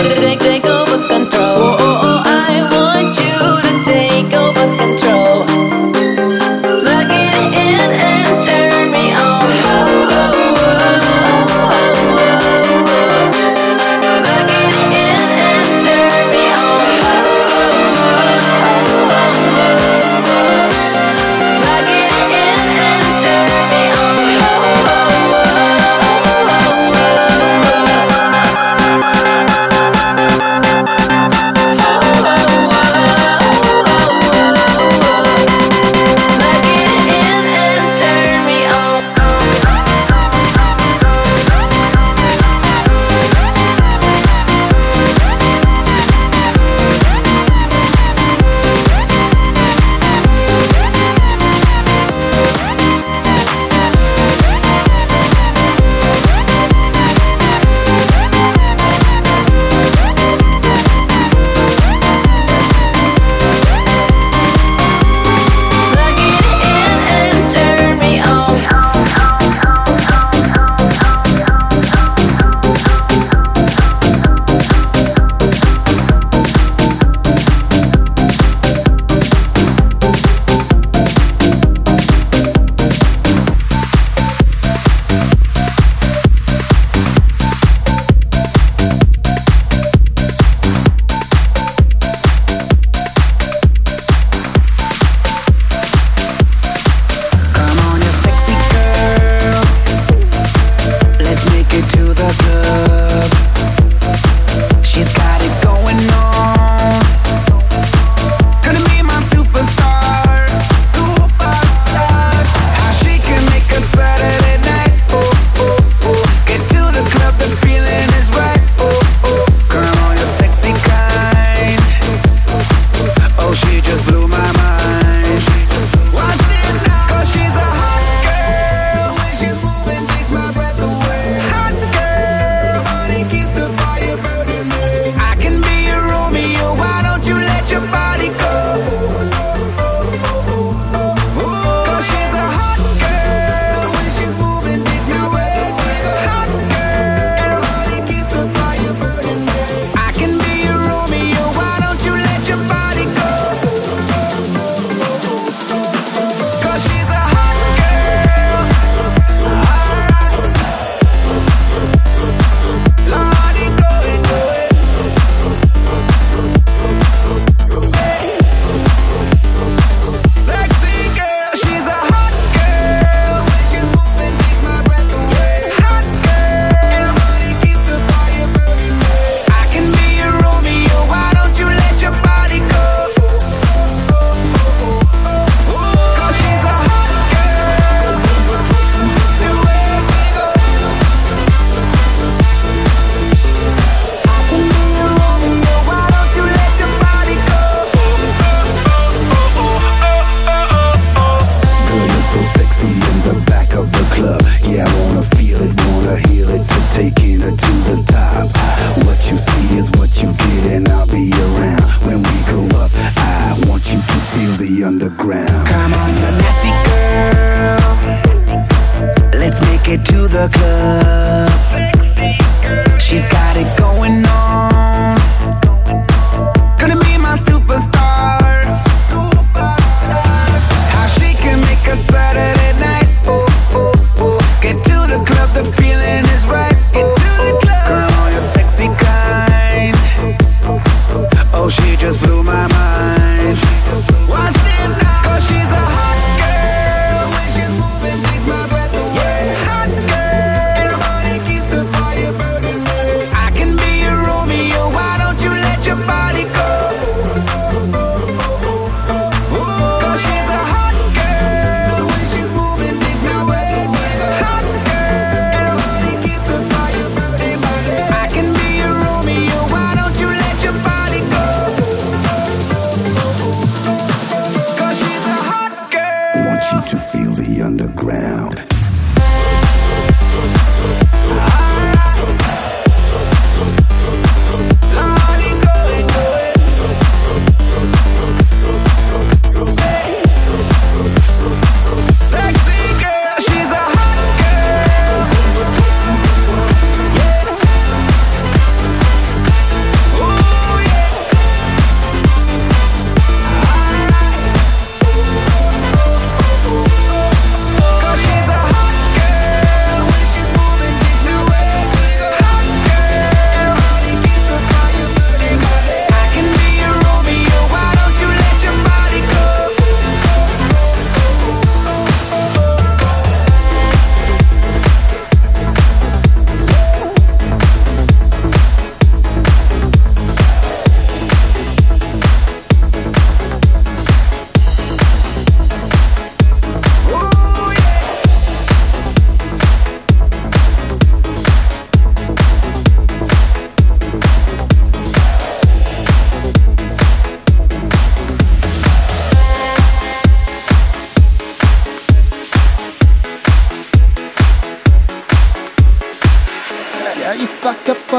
take over control. Oh, oh, oh, I want you to take over control. Plug it in and turn me on. Oh, oh, oh, oh, oh, oh. Plug it in and turn me on. Oh, oh, oh, oh, oh. Plug it in and turn me on. Oh, oh, oh, oh, oh.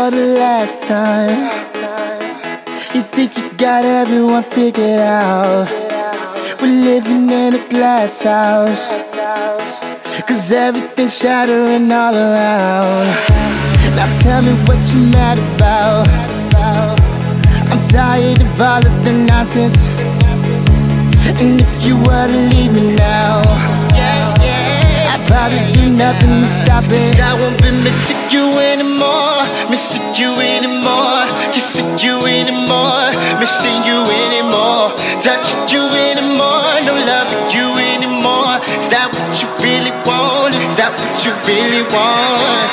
for the last time. You think you got everyone figured out. We're living in a glass house, 'cause everything's shattering all around. Now tell me what you mad about. I'm tired of all of the nonsense. And if you were to leave me now, I'd probably do nothing to stop it. I won't be missing you anymore, missing you anymore, kissing you anymore, missing you anymore, touching you anymore, no loving you anymore. Is that what you really want? Is that what you really want?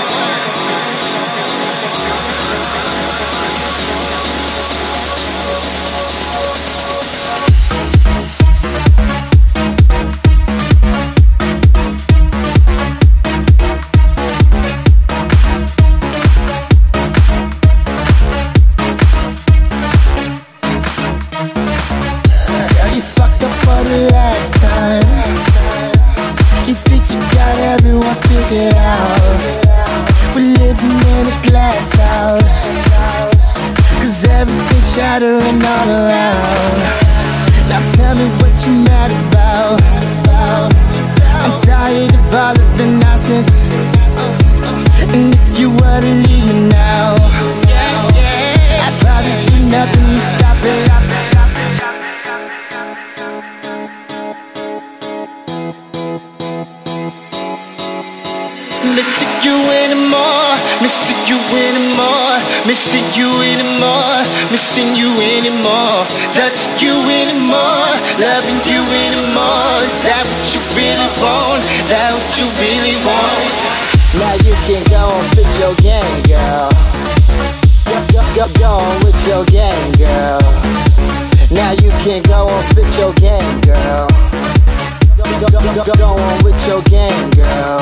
Figured out. We're living in a glass house, 'cause everything's shattering all around. Now tell me what you mad about. I'm tired of all of the nonsense. And if you were to leave me now, I'd probably do nothing to stop it. Missing you anymore, missing you anymore, missing you anymore, missing you anymore, touching you anymore, loving you anymore. Is that what you really want? Is that what you really want? Now you can go and spit your game, girl. Go on with your game, girl. Now you can go and spit your game, girl. Go on with your game, girl.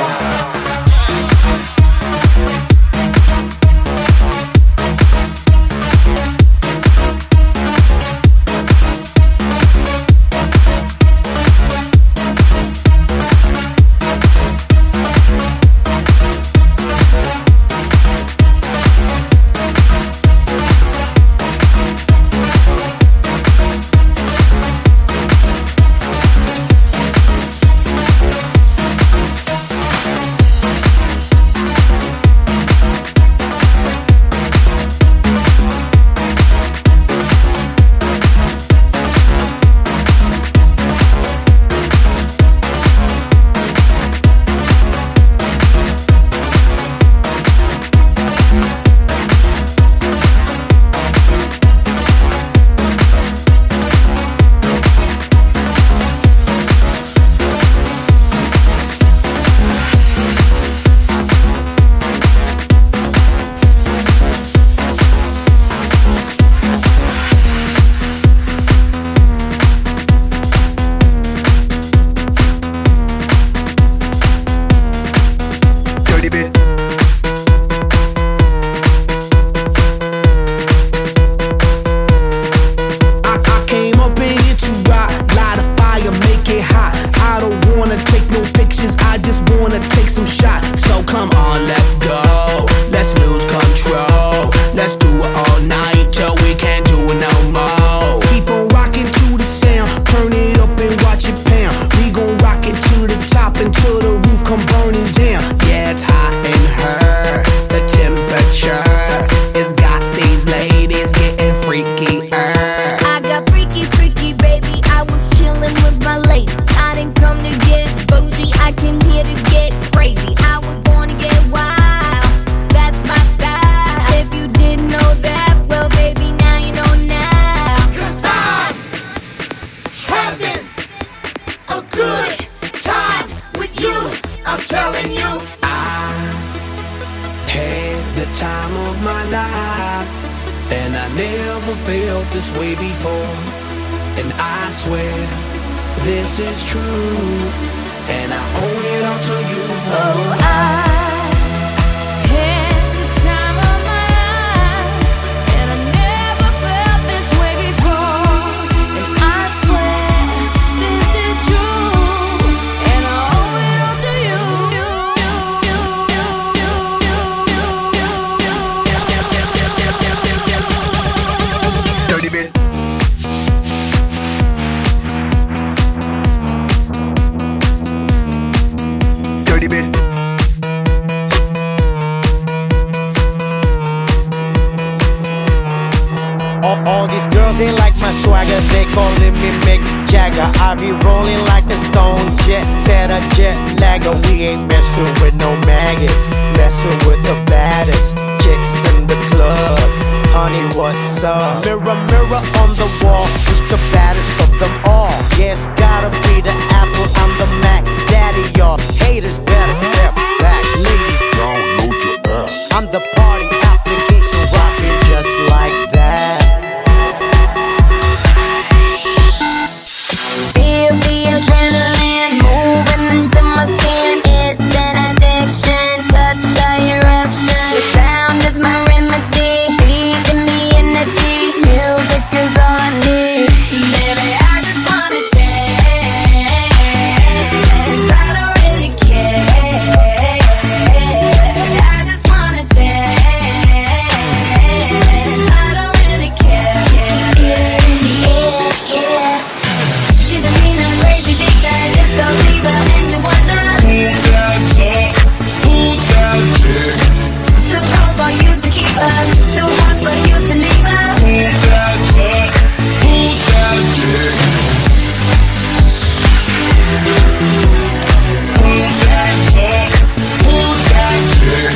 All these girls, they like my swagger, they calling me Mick Jagger. I be rolling like a stone jet, said a jet lagger. We ain't messing with no maggots, messing with the baddest chicks in the club. Honey, what's up? Mirror, mirror on the wall, who's the baddest of them all? Yeah, it's gotta be the Apple, I'm the Mac Daddy, y'all haters better step back. Ladies, download your app. I'm the party application, rocking just like that. Feel the adrenaline moving into my skin. It's an addiction, such a eruption. The sound is my remedy, feeding me energy. Music is all I need. Baby, I just wanna dance. I don't really care. I just wanna dance. I don't really care. She's a mean and crazy diva, disco diva, and you wonder Who's that chick? Who's that chick? too cold for you to keep her, too hot for you to leave her. Who's that chick? Who's that chick? Who's that chick? Who's that chick?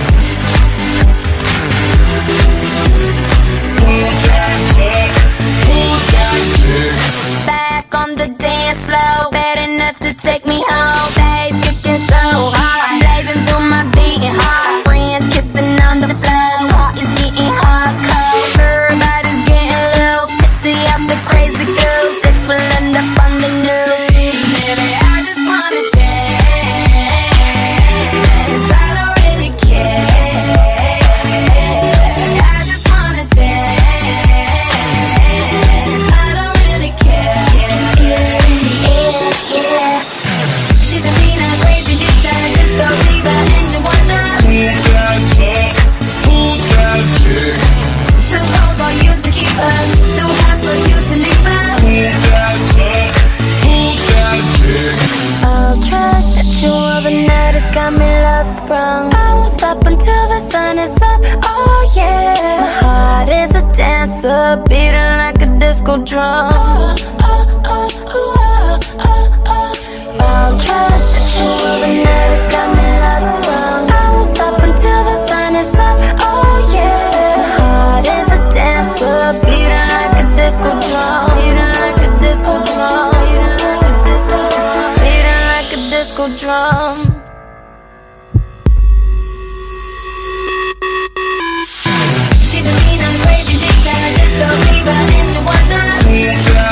Who's that chick? Who's that chick? Back on the dance floor, bad enough to take me home. Days kicking so hard, blazing through my beating heart. Friends kissing on the floor, heart is getting hardcore. Everybody's getting low, tipsy off the crazy goose. This will end up on the news. Baby, I just wanna dance. I don't really care. I just wanna dance. I don't really care. She's a mean and crazy diva, disco diva, and you wonder Who's that chick? Who's that chick? too cold for you to keep her, too hot for you to leave her. Who's that chick? Who's that chick? Ultra sexual, the night has got me love sprung. I won't stop until the sun is up. Oh yeah, my heart is a dancer, beating like a disco drum. Ultra sexual, the night has got me love sprung. I won't stop until the sun is up. Oh yeah, my heart is a dancer, beating like a disco drum. Beating like a disco drum. Beating like a disco drum. Beating like a disco drum. She's a mean and crazy diva, disco diva, and you wonder Who's that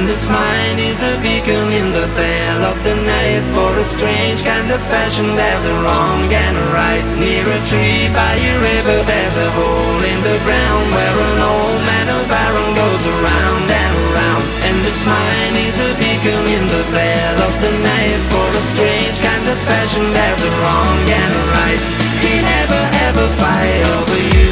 And this mind is a beacon in the veil of the night, for a strange kind of fashion. There's a wrong and a right. Near a tree by a river, there's a hole in the ground where an old man of iron goes around and around. And this mind is a beacon in the veil of the night, for a strange kind of fashion. There's a wrong and a right. He never ever fight over you.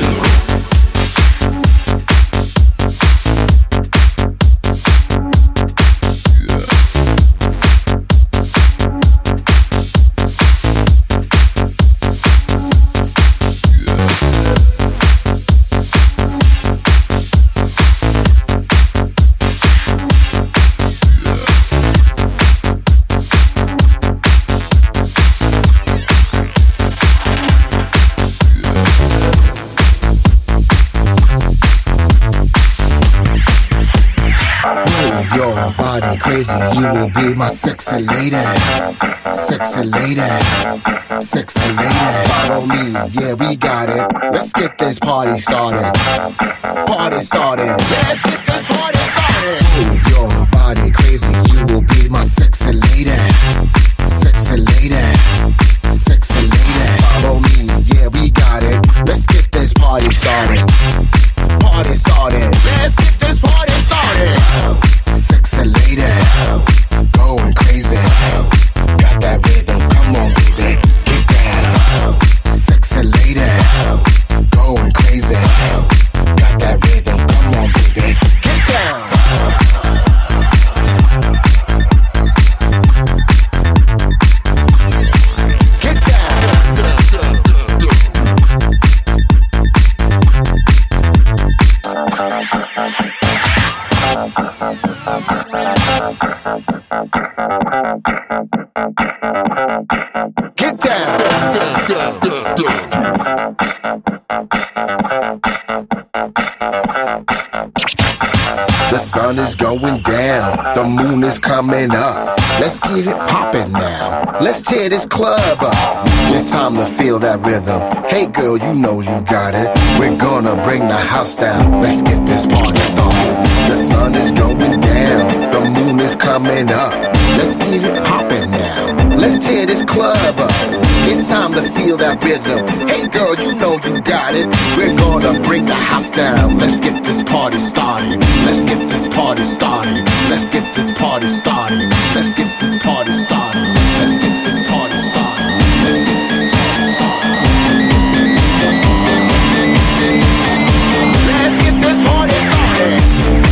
Crazy, you will be my sexy lady, sexy lady, sexy lady. Follow me, yeah, we got it. Let's get this party started. Party started. Let's get this party started. Move your body crazy, you will be my sexy lady, sexy lady, sexy lady. Follow me, yeah, we got it. Let's get this party started. Party started. Let's get this party started. Sexy lady, going crazy. Got that rhythm, come on baby, get down. Sexy lady, going crazy. Got that rhythm, come on baby, get down. Get The sun is going down, the moon is coming up. Let's get it poppin' now. Let's tear this club up. It's time to feel that rhythm. Hey girl, you know you got it. We're gonna bring the house down. Let's get this party started. The sun is going down, the moon is coming up. Let's get it poppin' now. Let's tear this club up. It's time to feel that rhythm. Hey girl, you know you got it. We're gonna bring the house down. Let's get this party started. Let's get this party started. Let's get this party started. Let's get this party started. Let's get this party started. Let's get this party started. Let's get this party started.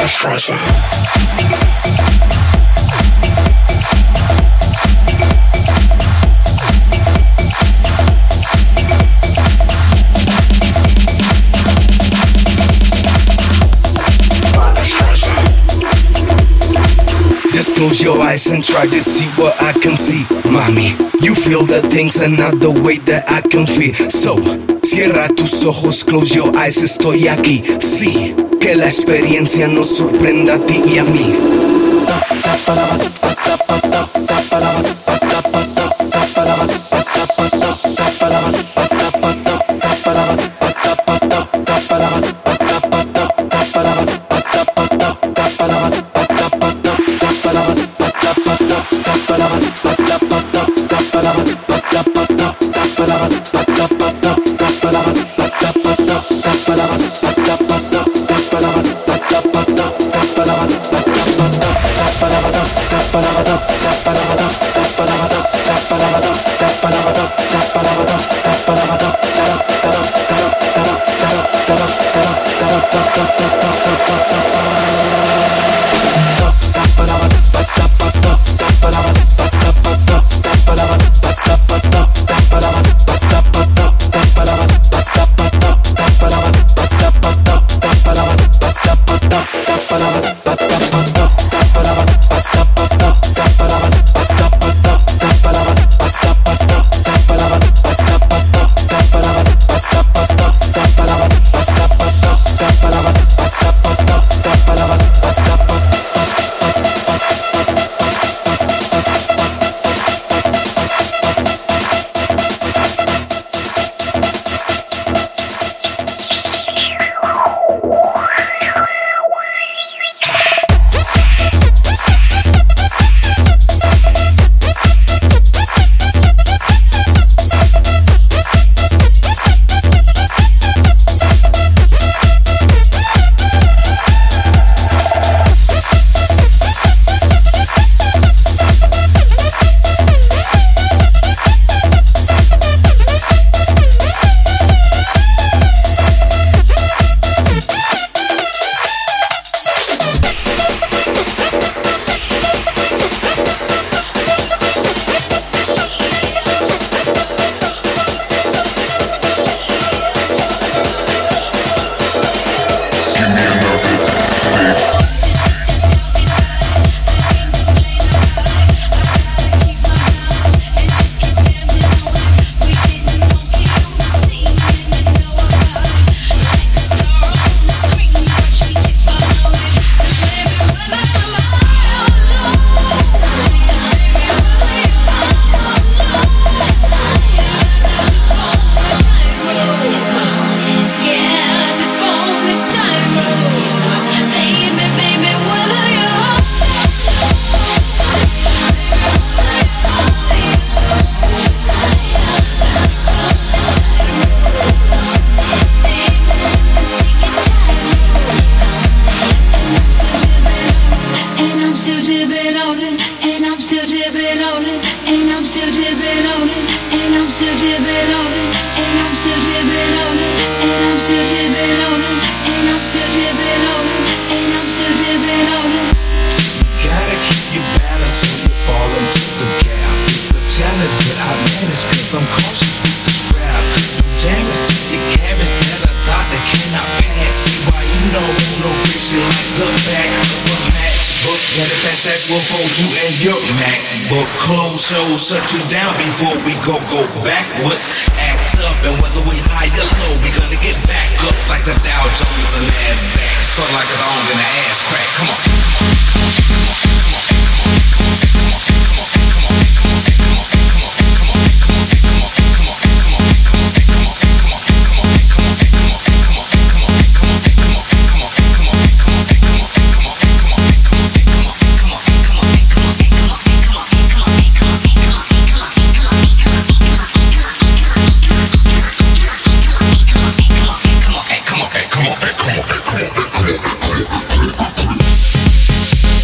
Just close your eyes and try to see what I can see. Mami, you feel the things and not the way that I can feel. So, cierra tus ojos, close your eyes, estoy aquí. Sí, que la experiencia nos sorprenda a ti y a mí. Shut you down before we go backwards. Act up, and whether we high or low, we gonna get back up like the Dow Jones and NASDAQ. Sort like a dog in an ass crack. Come on. Come on.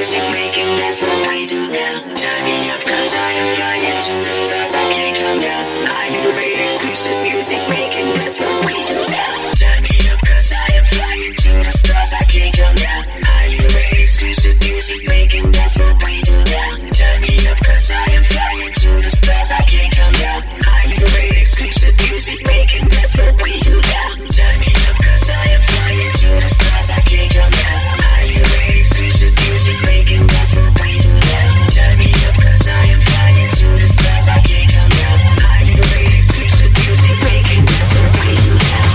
music making, that's what we do now. Turn me up, cause I am flying to the stars, I can't come down. I liberate exclusive music making, that's what we do now. Turn me up, cause I am flying to the stars, I can't come down. I liberate exclusive music making, that's what we do now. Turn me up, cause I am flying to the stars, I can't come down. I liberate exclusive music making, that's what we do now. Turn me up, cause I am flying to the stars, I can't come down. I liberate exclusive music making, that's what we do now. Turn me up, cause I am flying to the stars, I can't come down. I liberate exclusive music making, that's what we do now.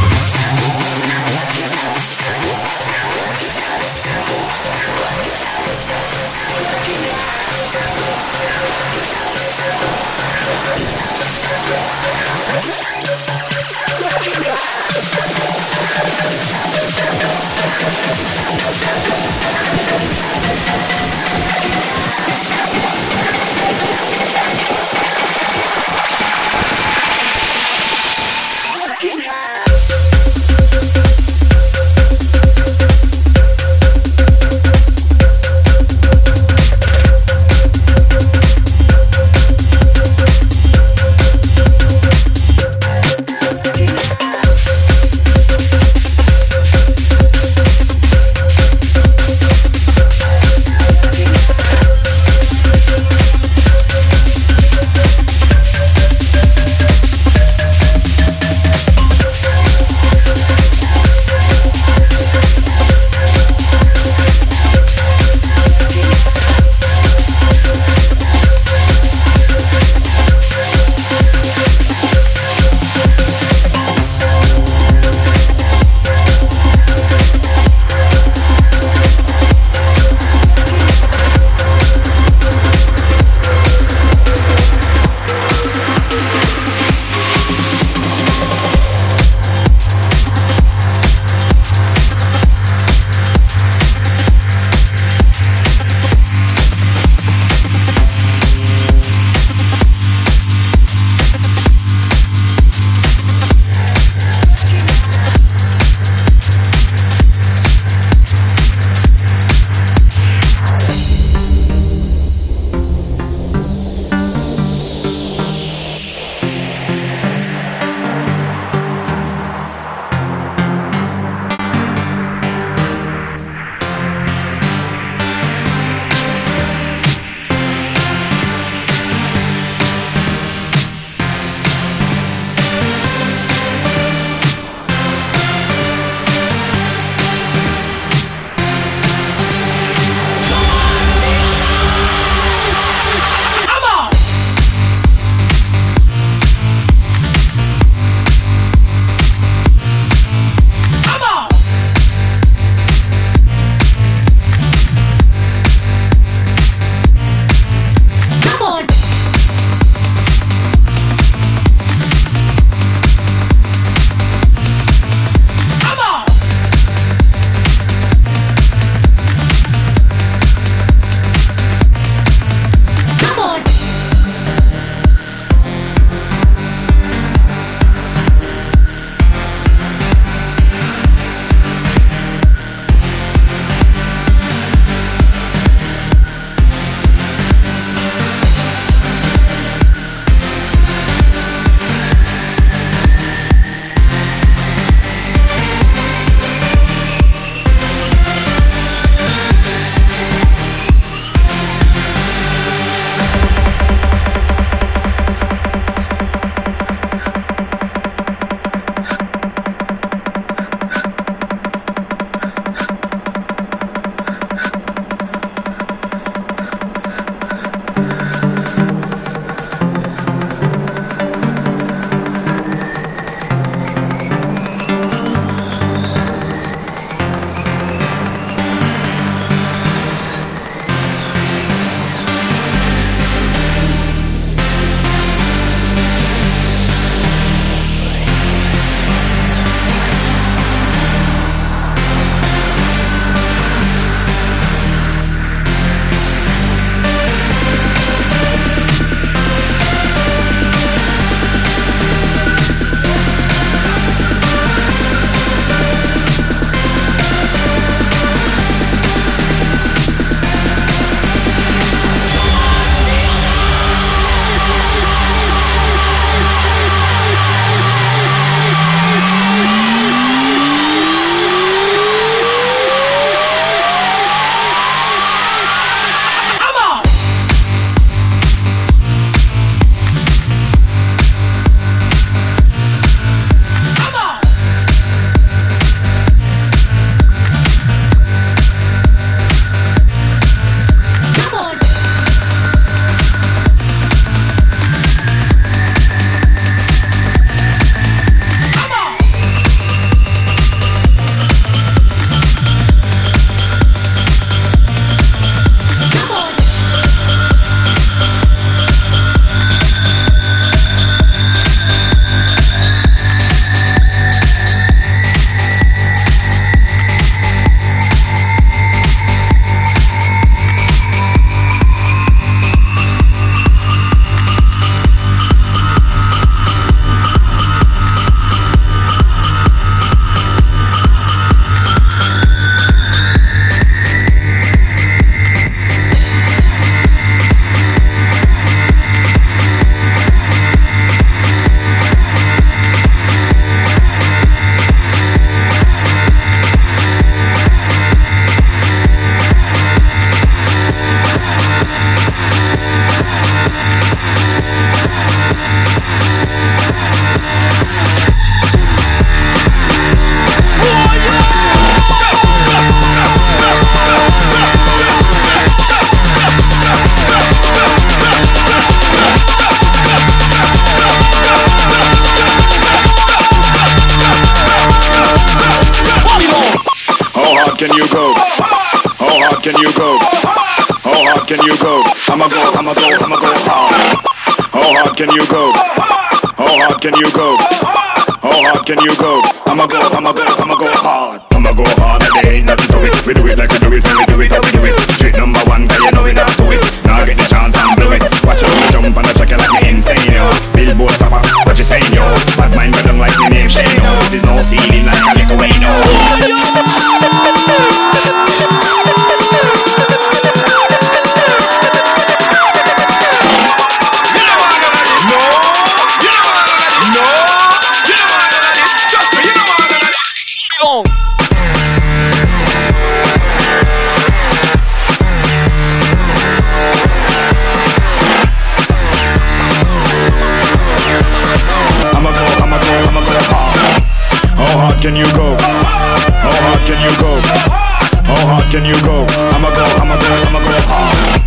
can you go? How hard can you go? How hard can you go? I'ma go hard. How hard can you go? How hard can you go? How hard can you go? I'ma go hard. I'ma go hard and there ain't nothing to it. We do it like we do it, and we do it how we do it. Street number one, cause you know we not do it. Now get the chance and blow it. Watch out, me jump on the track like me insane, yo. Billboard topper, what you saying, yo? Bad mind got them like me name Shane, yo. This is no ceiling like a little way, no. Can you go? How hard can you go? How hard can you go? I'ma go hard.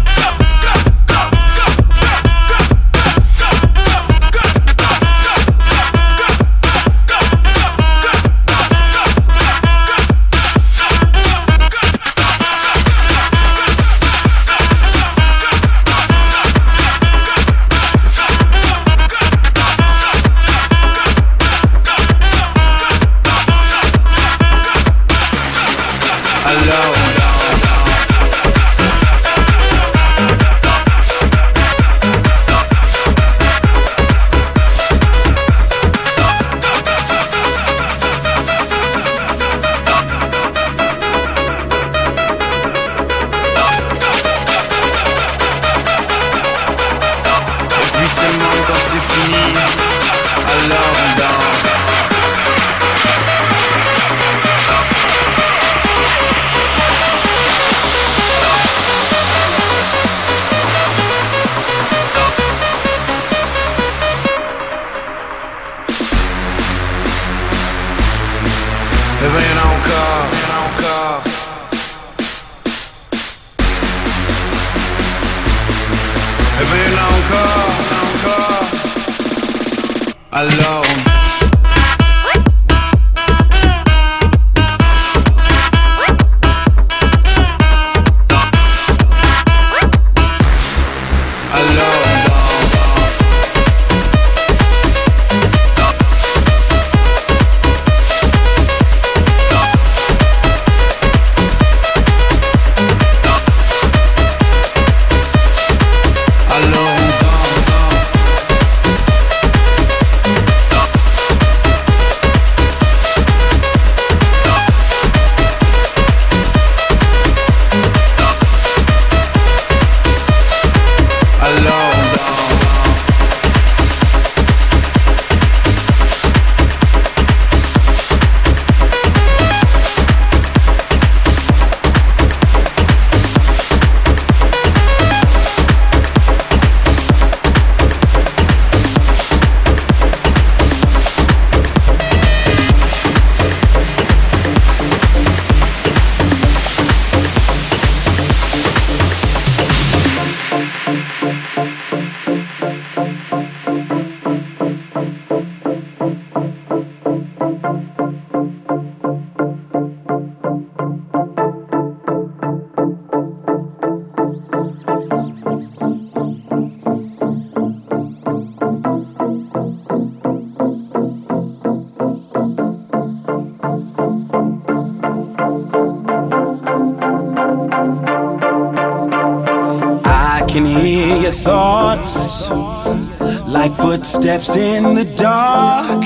Like footsteps in the dark,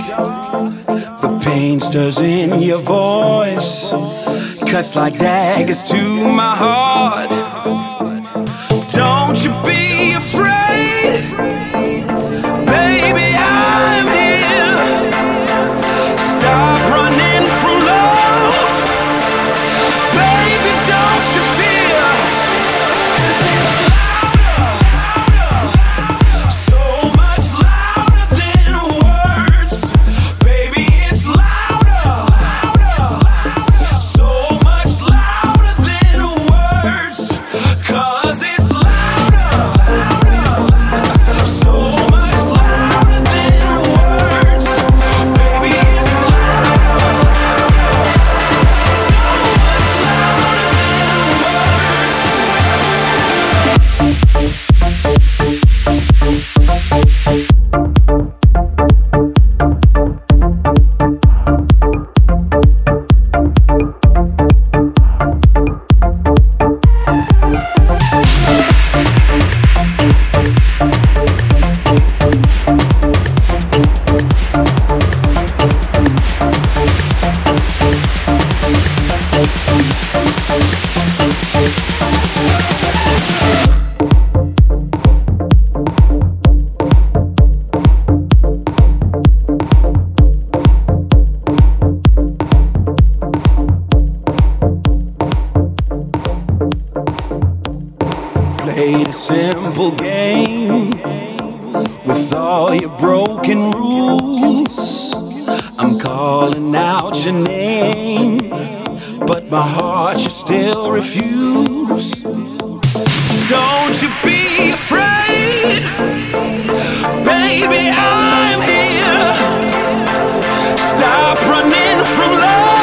the pain stirs in your voice, cuts like daggers to my heart. Don't you be afraid, baby, I'm here. Stop running from love, baby, don't you fear. Played a simple game with all your broken rules. I'm calling out your name, but my heart you still refuse. Don't you be afraid, baby, I'm here. Stop running from love.